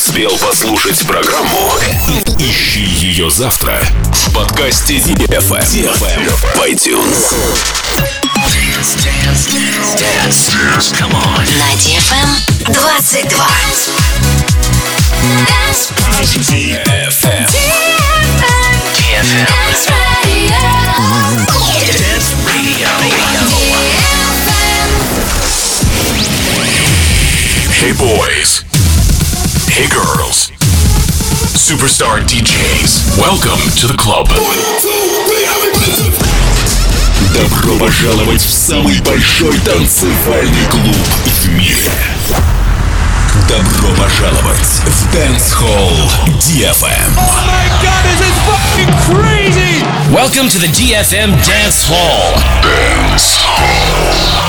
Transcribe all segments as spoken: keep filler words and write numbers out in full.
успел послушать программу? Ищи ее завтра в подкасте ди эф эм в iTunes. Dance, dance, dance, dance, come on. На ди эф эм двадцать два. ди эф эм. ди эф эм. Dance Radio. Dance Radio. Hey boys. Hey girls. Superstar ди джейс. Welcome to the club. Добро пожаловать в самый большой танцевальный клуб в мире. Добро пожаловать в Dance Hall ди эф эм. Oh my God, this is fucking crazy! Welcome to the ди эф эм Dance Hall. Dance Hall.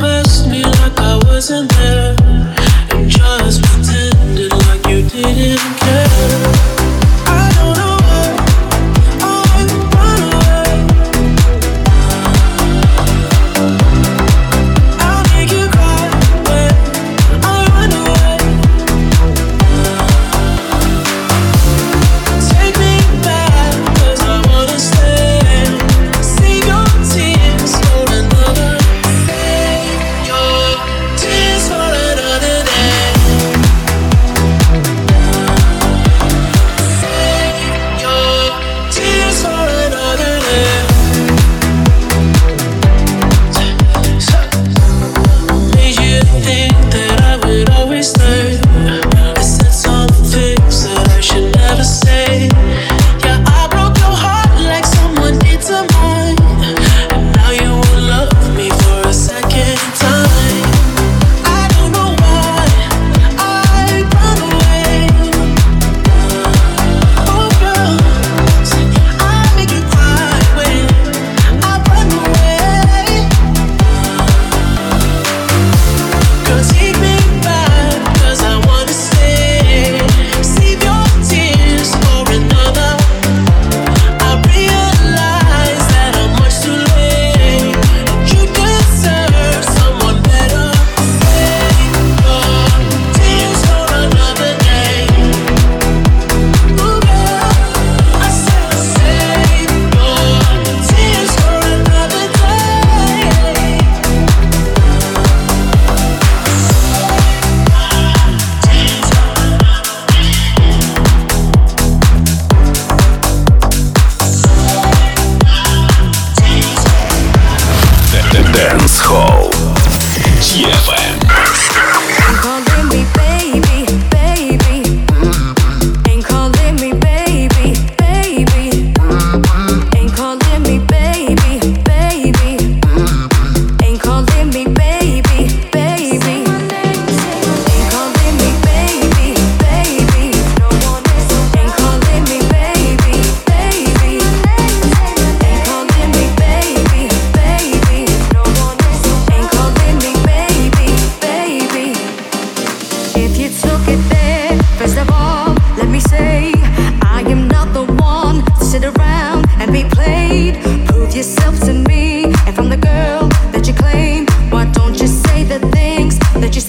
Wasn't there and just pretended like you didn't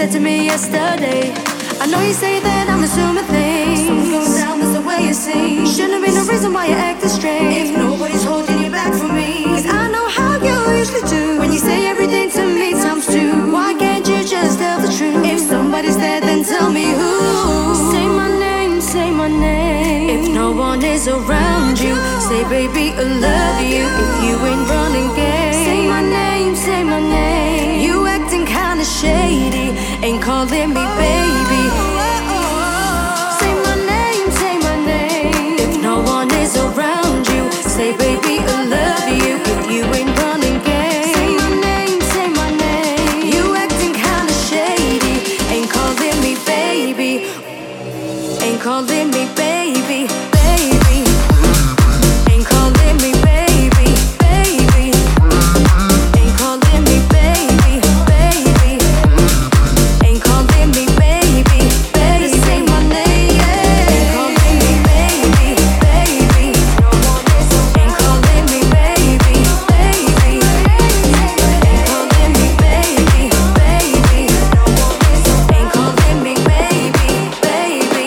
said to me yesterday. I know you say that I'm assuming things. Something's going down, that's the way you see. Shouldn't have been the reason why you acting strange. If nobody's holding you back from me, cause I know how you usually do. When you say everything to me times two, why can't you just tell the truth? If somebody's there, then tell me who. Say my name, say my name. If no one is around you, say baby I love you. If you ain't running game, say my name, say my name. You acting kinda shady, ain't calling me baby. Say my name, say my name. If no one is around you, say baby I love you. If you ain't running game, say my name, say my name. You acting kinda shady, ain't calling me baby. Ain't calling me baby, baby. Ain't calling me baby, baby. Ain't calling me baby, baby. Ain't calling me baby, baby. Say my name, yeah. Ain't calling me baby, baby. Ain't calling me baby, baby. Ain't calling me baby, baby. Ain't calling me baby, baby.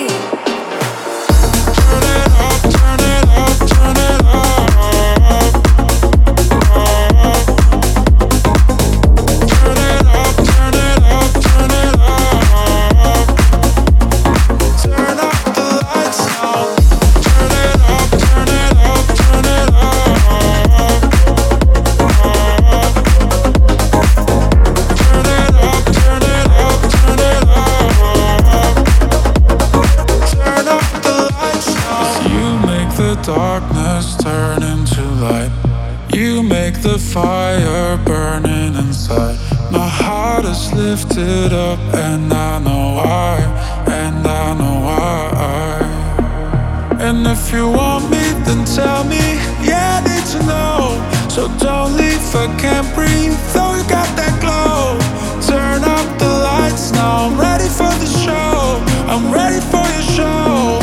Darkness turn into light. You make the fire burning inside. My heart is lifted up and I know why, and I know why. And if you want me, then tell me. Yeah, I need to know. So don't leave, I can't breathe. Though you got that glow. Turn up the lights now. I'm ready for the show. I'm ready for your show.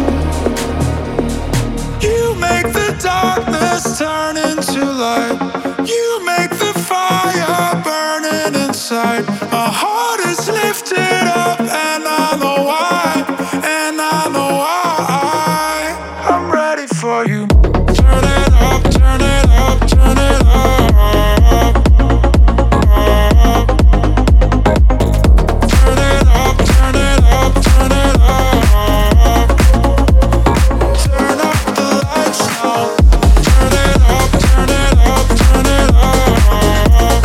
You make the darkness turn into light. You make the fire burning inside. My heart is lifted up and I know why, and I know why. I'm ready for you. Turn it up, turn it up, turn it up. Turn it up, turn it up, turn it up. Turn up the lights now. Turn it up, turn it up, turn it up.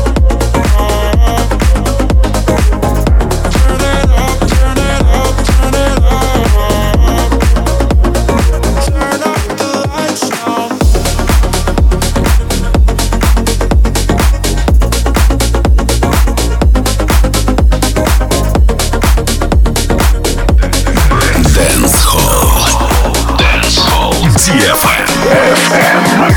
Turn it up, turn it up, turn it up. Turn up the lights now. Dance Hall. Dance Hall. ди эф эм.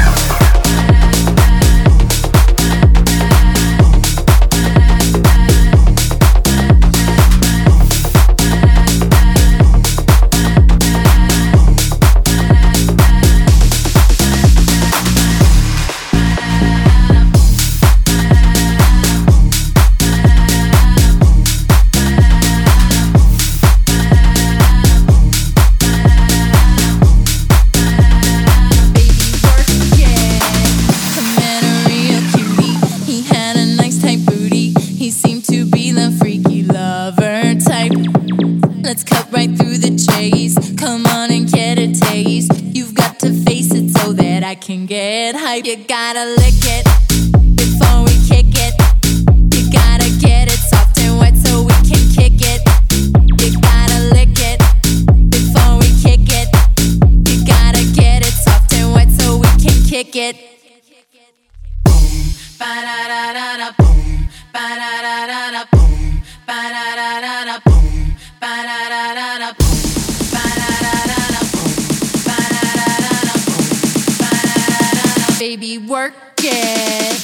Let's cut right through the chase. Come on and get a taste. You've got to face it so that I can get hype. You gotta lick it before we kick it. You gotta get it soft and wet so we can kick it. You gotta lick it before we kick it. You gotta get it soft and wet so we can kick it. Boom, ba da da da da, boom, ba da da da da, boom, ba da da da da, boom. Ba-da-da-da-da, boom. Ba-da-da-da-da, boom. Ba-da-da-da-da, boom. Ba-da-da-da-da. Baby, work it.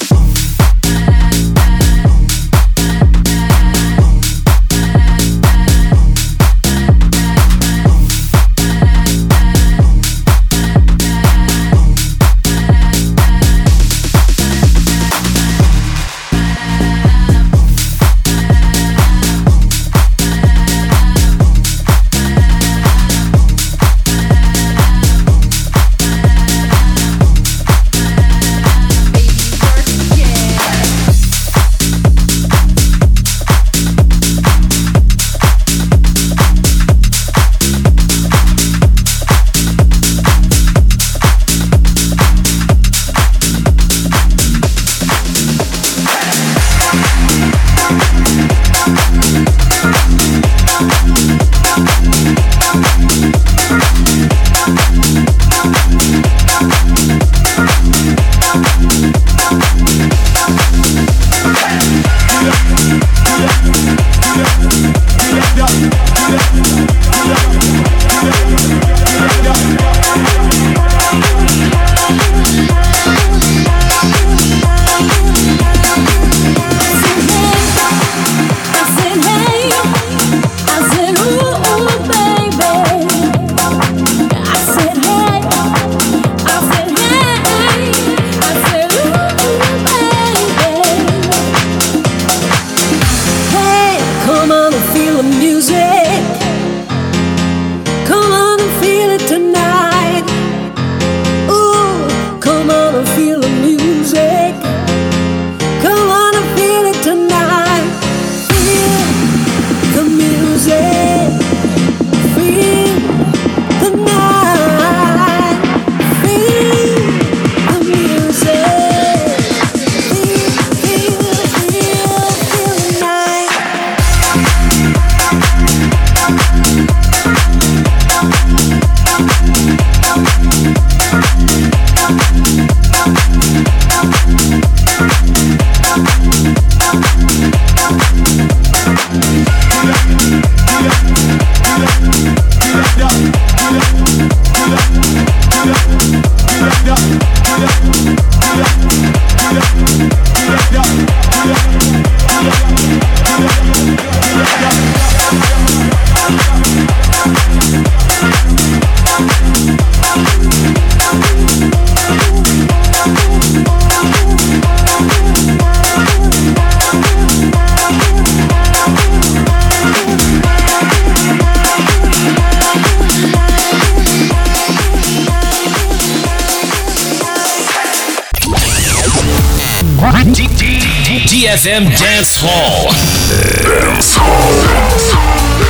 ди эф эм Dance Hall. Dance Hall.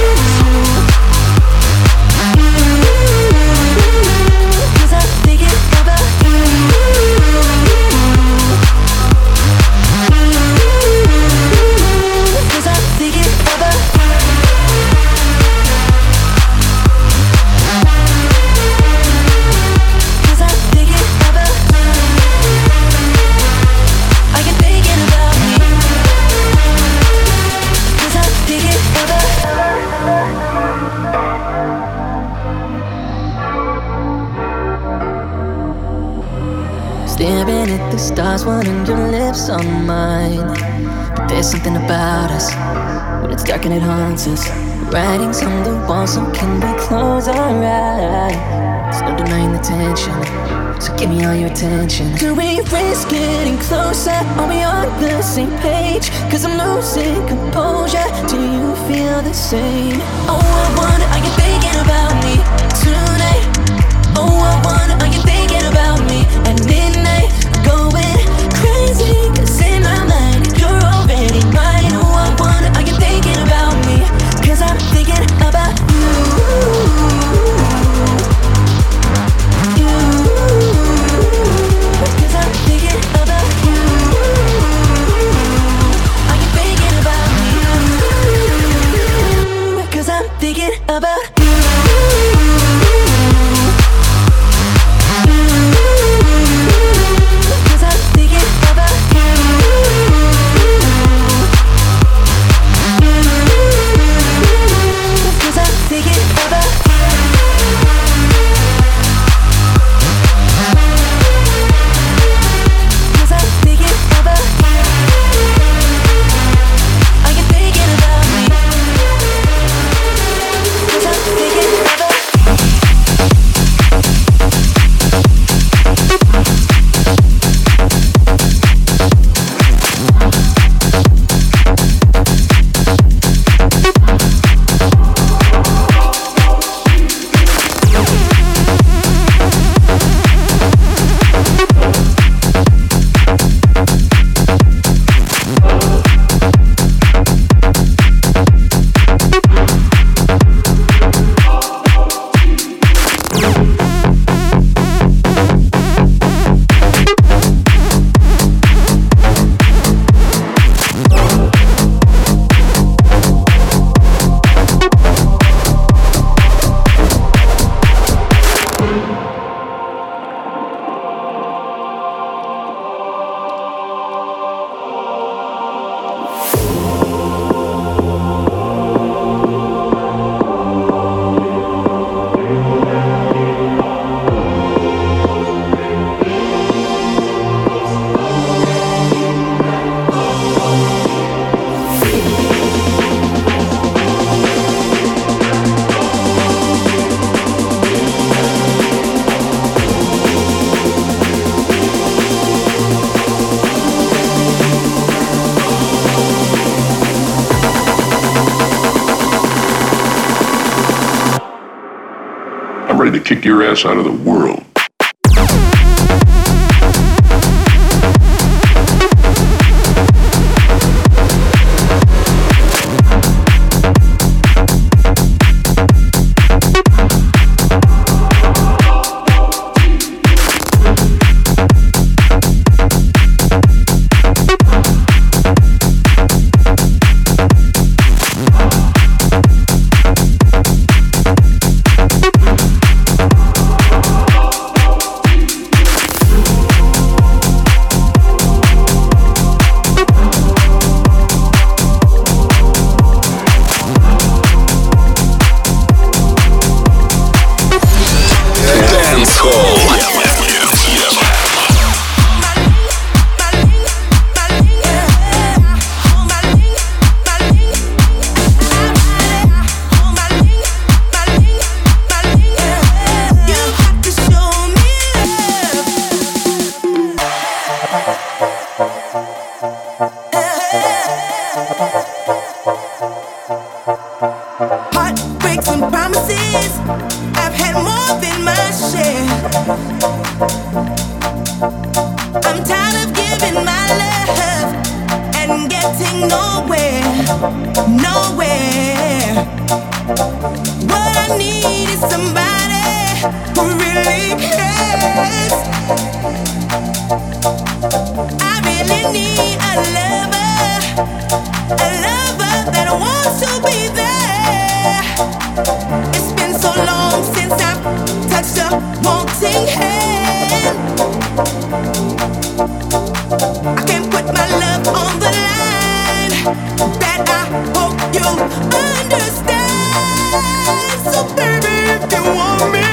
Staring at the stars, wanting your lips on mine. But there's something about us, when it's dark and it haunts us. Writings on the wall, so can we close our eyes? There's no denying the tension, so give me all your attention. Do we risk getting closer? Are we on the same page? Cause I'm losing composure. Do you feel the same? Oh, I wonder, are you thinking about me tonight? Oh, I wonder, are you thinking about me at midnight? Going crazy, cause in my mind you're already mine. Oh, I wonder, are you thinking about me? Cause I'm thinking about you. You. Cause I'm thinking about you. Are you thinking about me? Cause I'm thinking about you. To kick your ass out of the world. Heartbreaks and promises, I've had more than my share. I'm tired of giving my love and nowhere. What I need is somebody who really cares. I really need a lover, a lover that wants to be there. It's been so long since I've touched a wanting hand. I can't put my love on the line. That I hope you understand. So baby, if you want me,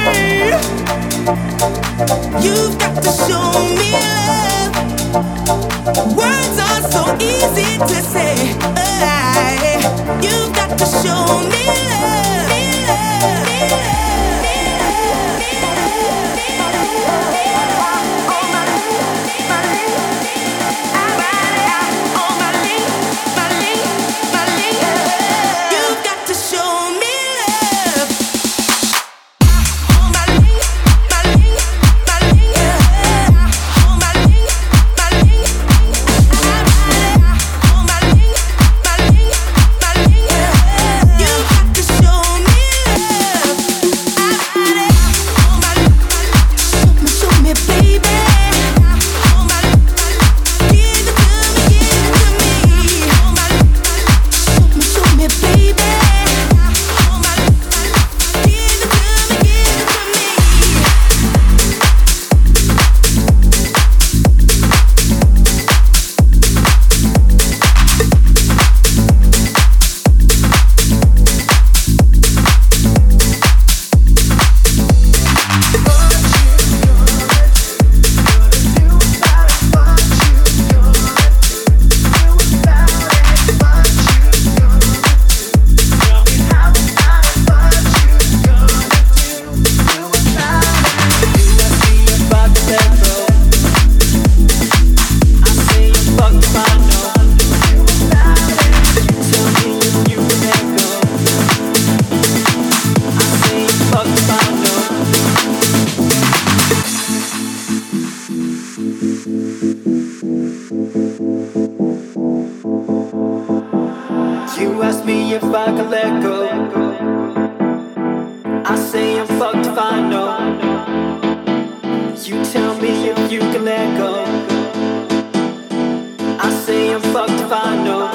you've got to show me love. Words are so easy to say. Uh, you've got to show me love. Me love, me love, me love, me love, me love. On my link, my link. I ride it out on my link, my link, my link. You've got to show me love. On my link, my link, my link. On my link, my link. I ride it out on my link, my link, my link. You've got to show me love. I ride it out on my link, show me, show me, baby. On my link, give it to me, give it to me. On my link, show me, show me, baby. On my link, give it to me, give it to me. You ask me if I can let go. I say I'm fucked if I know. You tell me if you can let go. I say I'm fucked if I know.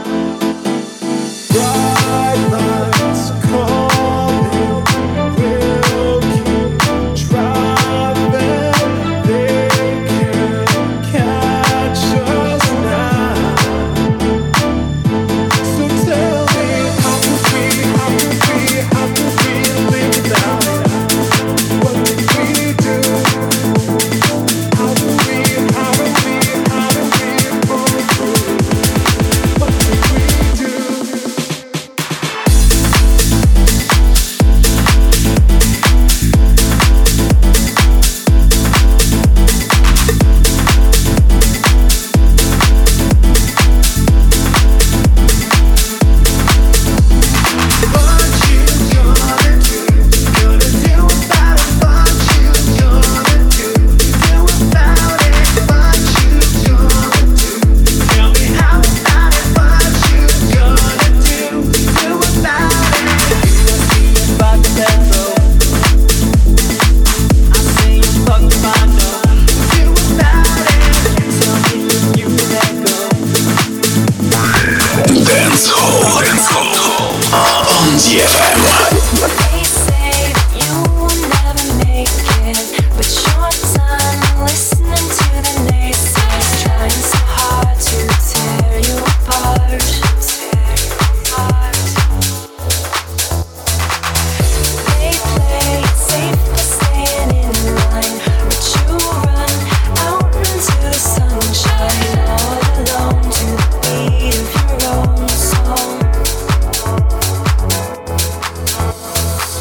Bright lights coming, we'll keep driving. They can't catch us now. So tell me, how can we, how can we, how can we live without it? What did we do? How can we, how can we, how can we pull through? What did we do? What you gonna do? Gonna do about it? What you gonna do? Do about it? What you gonna do? Tell me how about it? What you gonna do? Do about it? You ask me if I can let go. I say I'm fucked if I know. Do about it? Tell me if you can let go. Dance Hall. Dance Hall. On ди эф эм. They say that you will never make it, but your time listening to the naysayers, trying so hard to tear you apart. Tear you apart. They play it safe to staying in line, but you run out into the sunshine all alone to the beat of your own song.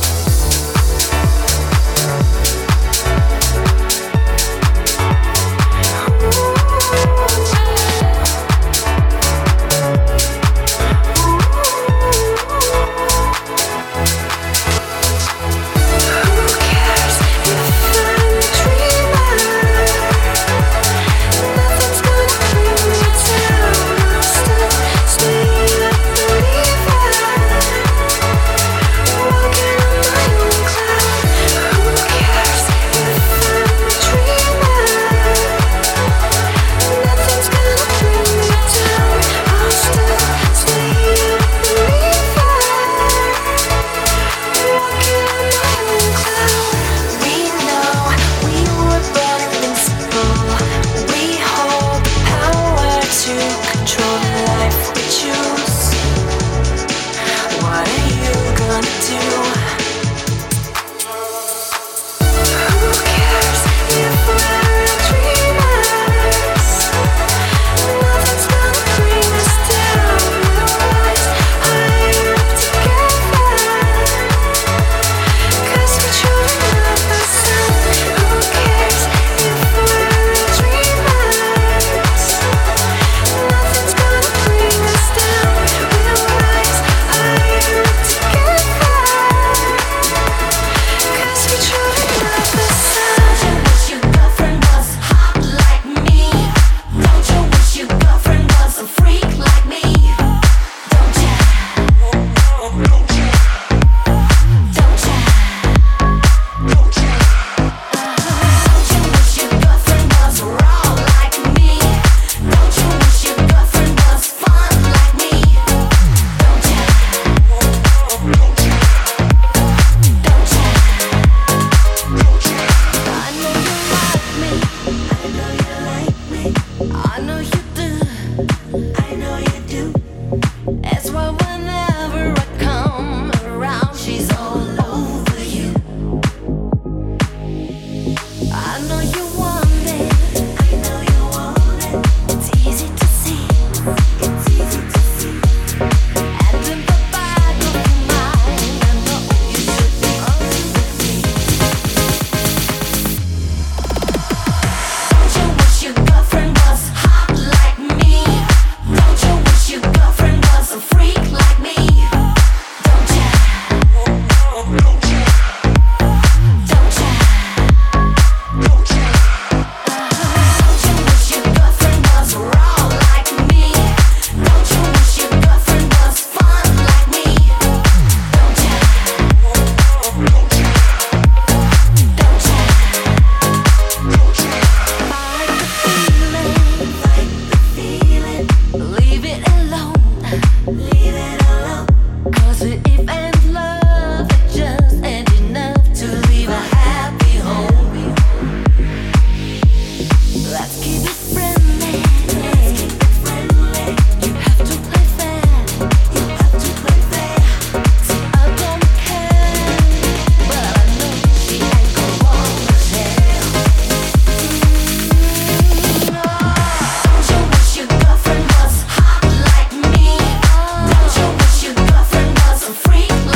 Freak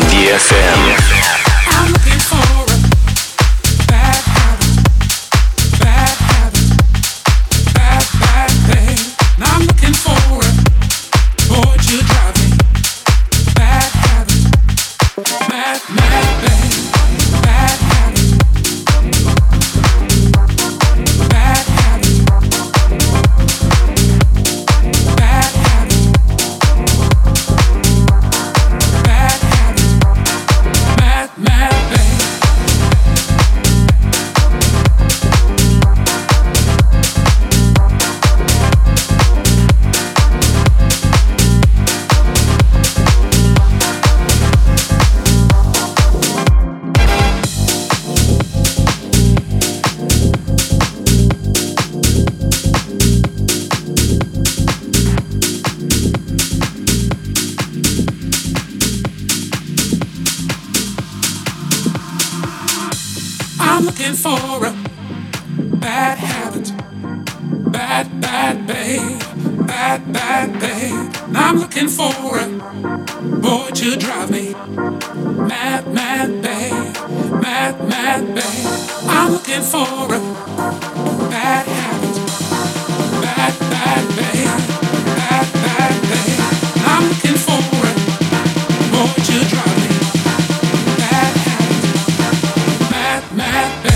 ди эф эм. I'm looking for a bad habit, bad habit, bad, bad thing. I'm looking for a boy to drive me. Bad habit, mad, mad thing. Bad habit, bad habit, bad habit, bad habit, mad, mad thing. I'm looking for a bad habit, bad, bad babe, bad, bad babe. I'm looking for a boy to drive me mad, mad babe, mad, mad babe. I'm looking for a bad habit, bad, bad babe, bad, bad babe. I'm looking for a boy to drive me bad habit, mad, mad babe.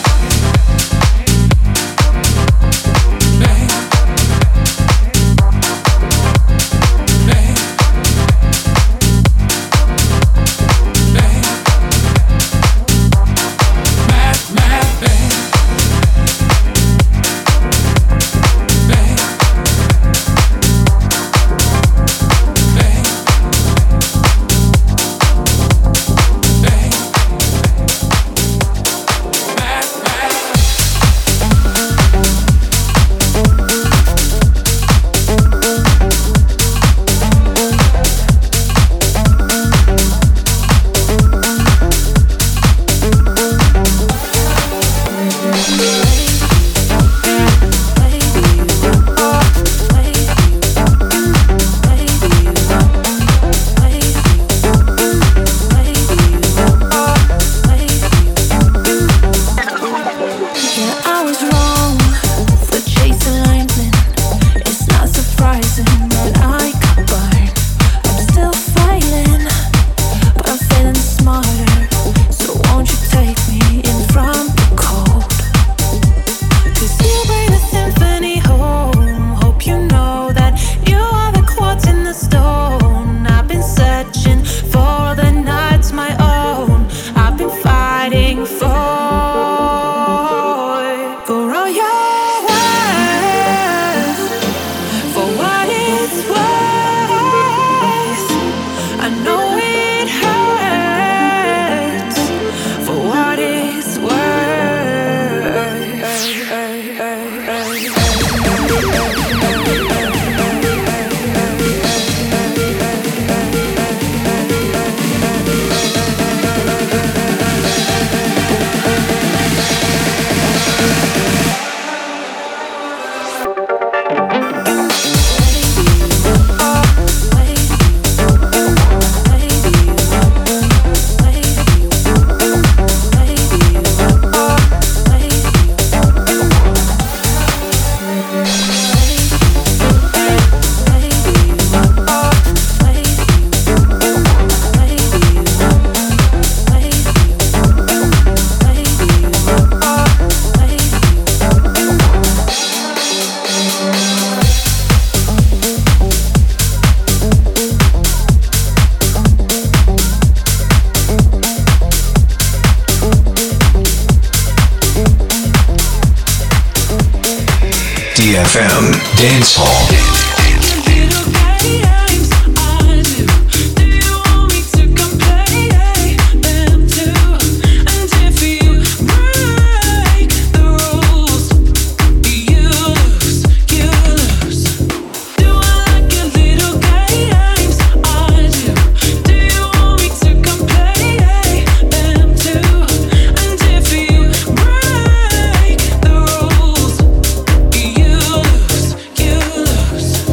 ди эф эм Dance Hall. You lose.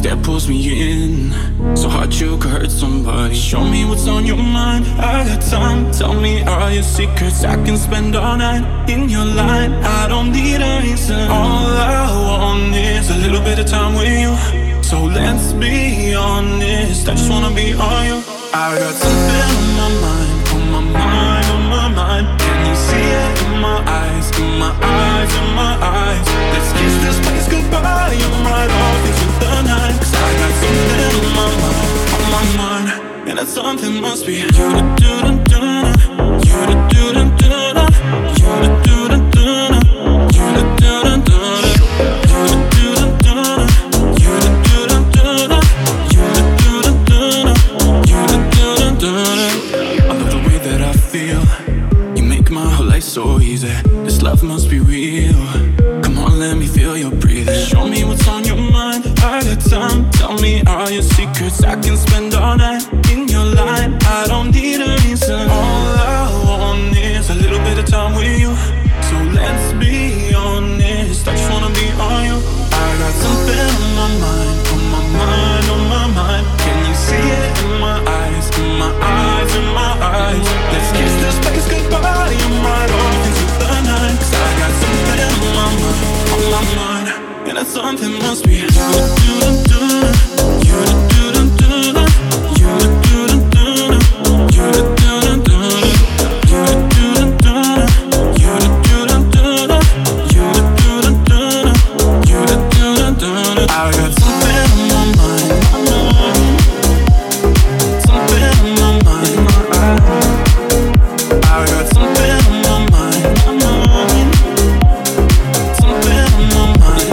that pulls me in. So hard you could hurt somebody. Show me what's on your mind. I got time. Tell me all your secrets. I can spend all night in your line. I don't need a reason. All I want is a little bit of time with you. So let's be honest. I just wanna be all you. I got something on my mind, on my mind, on my mind. Can you see it in my eyes, in my eyes, in my eyes? Let's kiss this place goodbye. I'm right off into the night. Cause I got something on my mind, on my mind. And that something must be you to do to do you to do to do you to do to do you to do to do you to do to do you to do to do you to do to do you to do to do. I love the way that I feel. You make my whole life so easy. This love must be real. Come on, let me feel your breathing. Show me what's on your mind. I got time. Tell me all your secrets. I can spend all night in your line. I don't need a reason. All I want is a little bit of time with you. So let's be honest. I just wanna be on you. I got something on my mind, on my mind, on my mind. Can you see it in my eyes, in my eyes, in my eyes? Let's kiss this place goodbye. I'm right off into the night. Cause I got something on my mind, on my mind. And that something must be you to do to do you to do to do you to do to do you to do to do you to do to do you to do to do you to do to do you to do to do. I got something on my mind, something on my mind. I got something on my mind, something on my mind.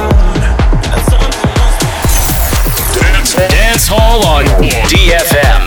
Dance, Dance Hall on D F M.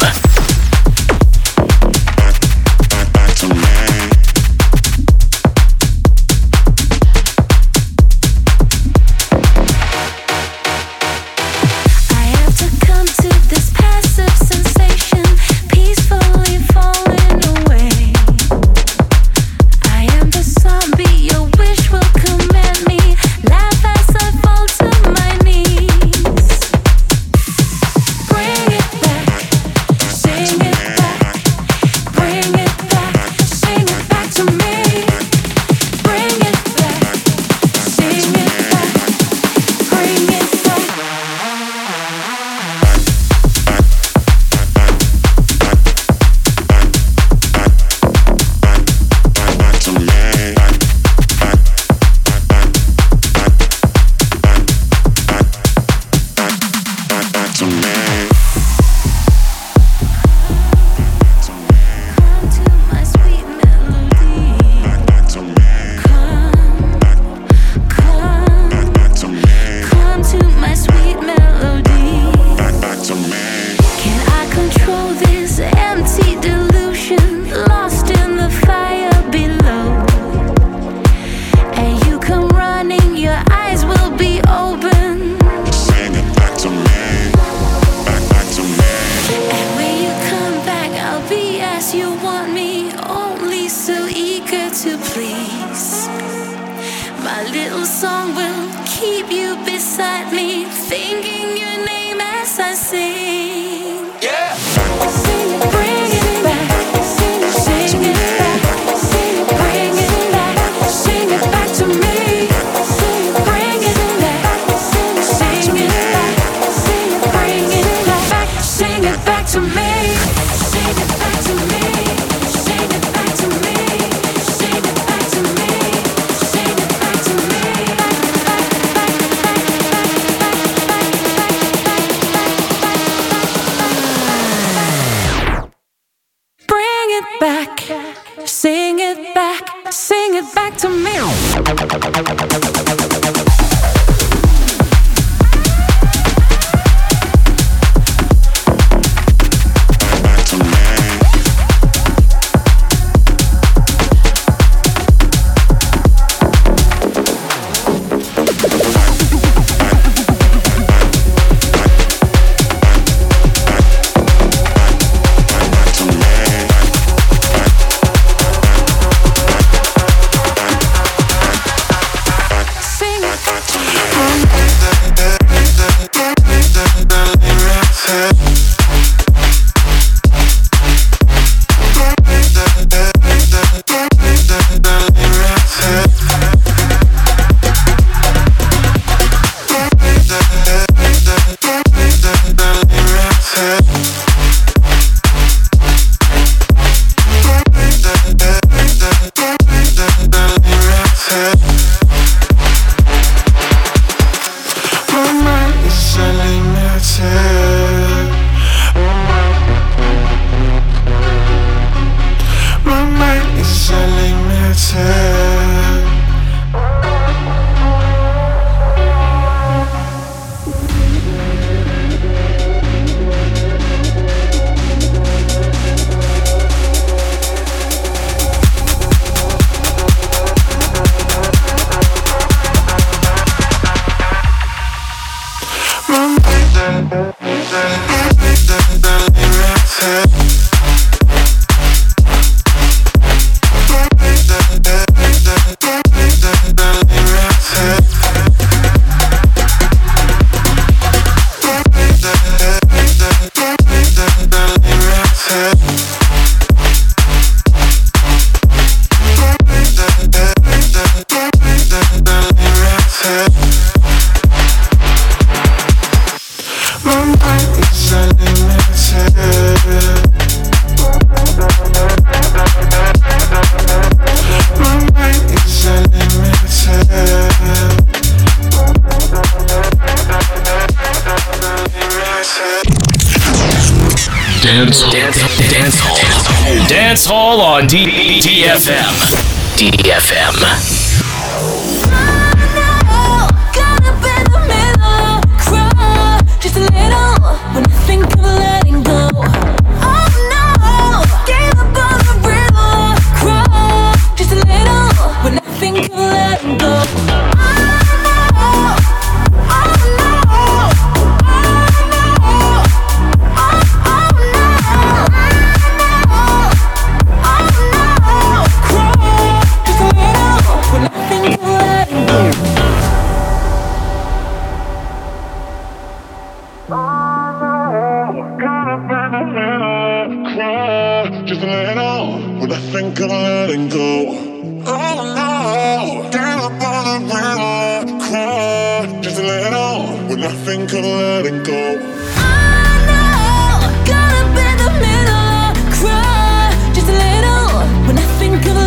Sing it. Dance, dance, dance hall, dance hall on D F M. D F M. Just a little when I think of letting go. Oh no, gave up on the riddle. Cry, just a little when I think of letting go. Just a little when I think of letting go. Oh no, get up on the river, cry. Just a little when I think of letting go. Caught up in the middle, cry. Just a little when I think of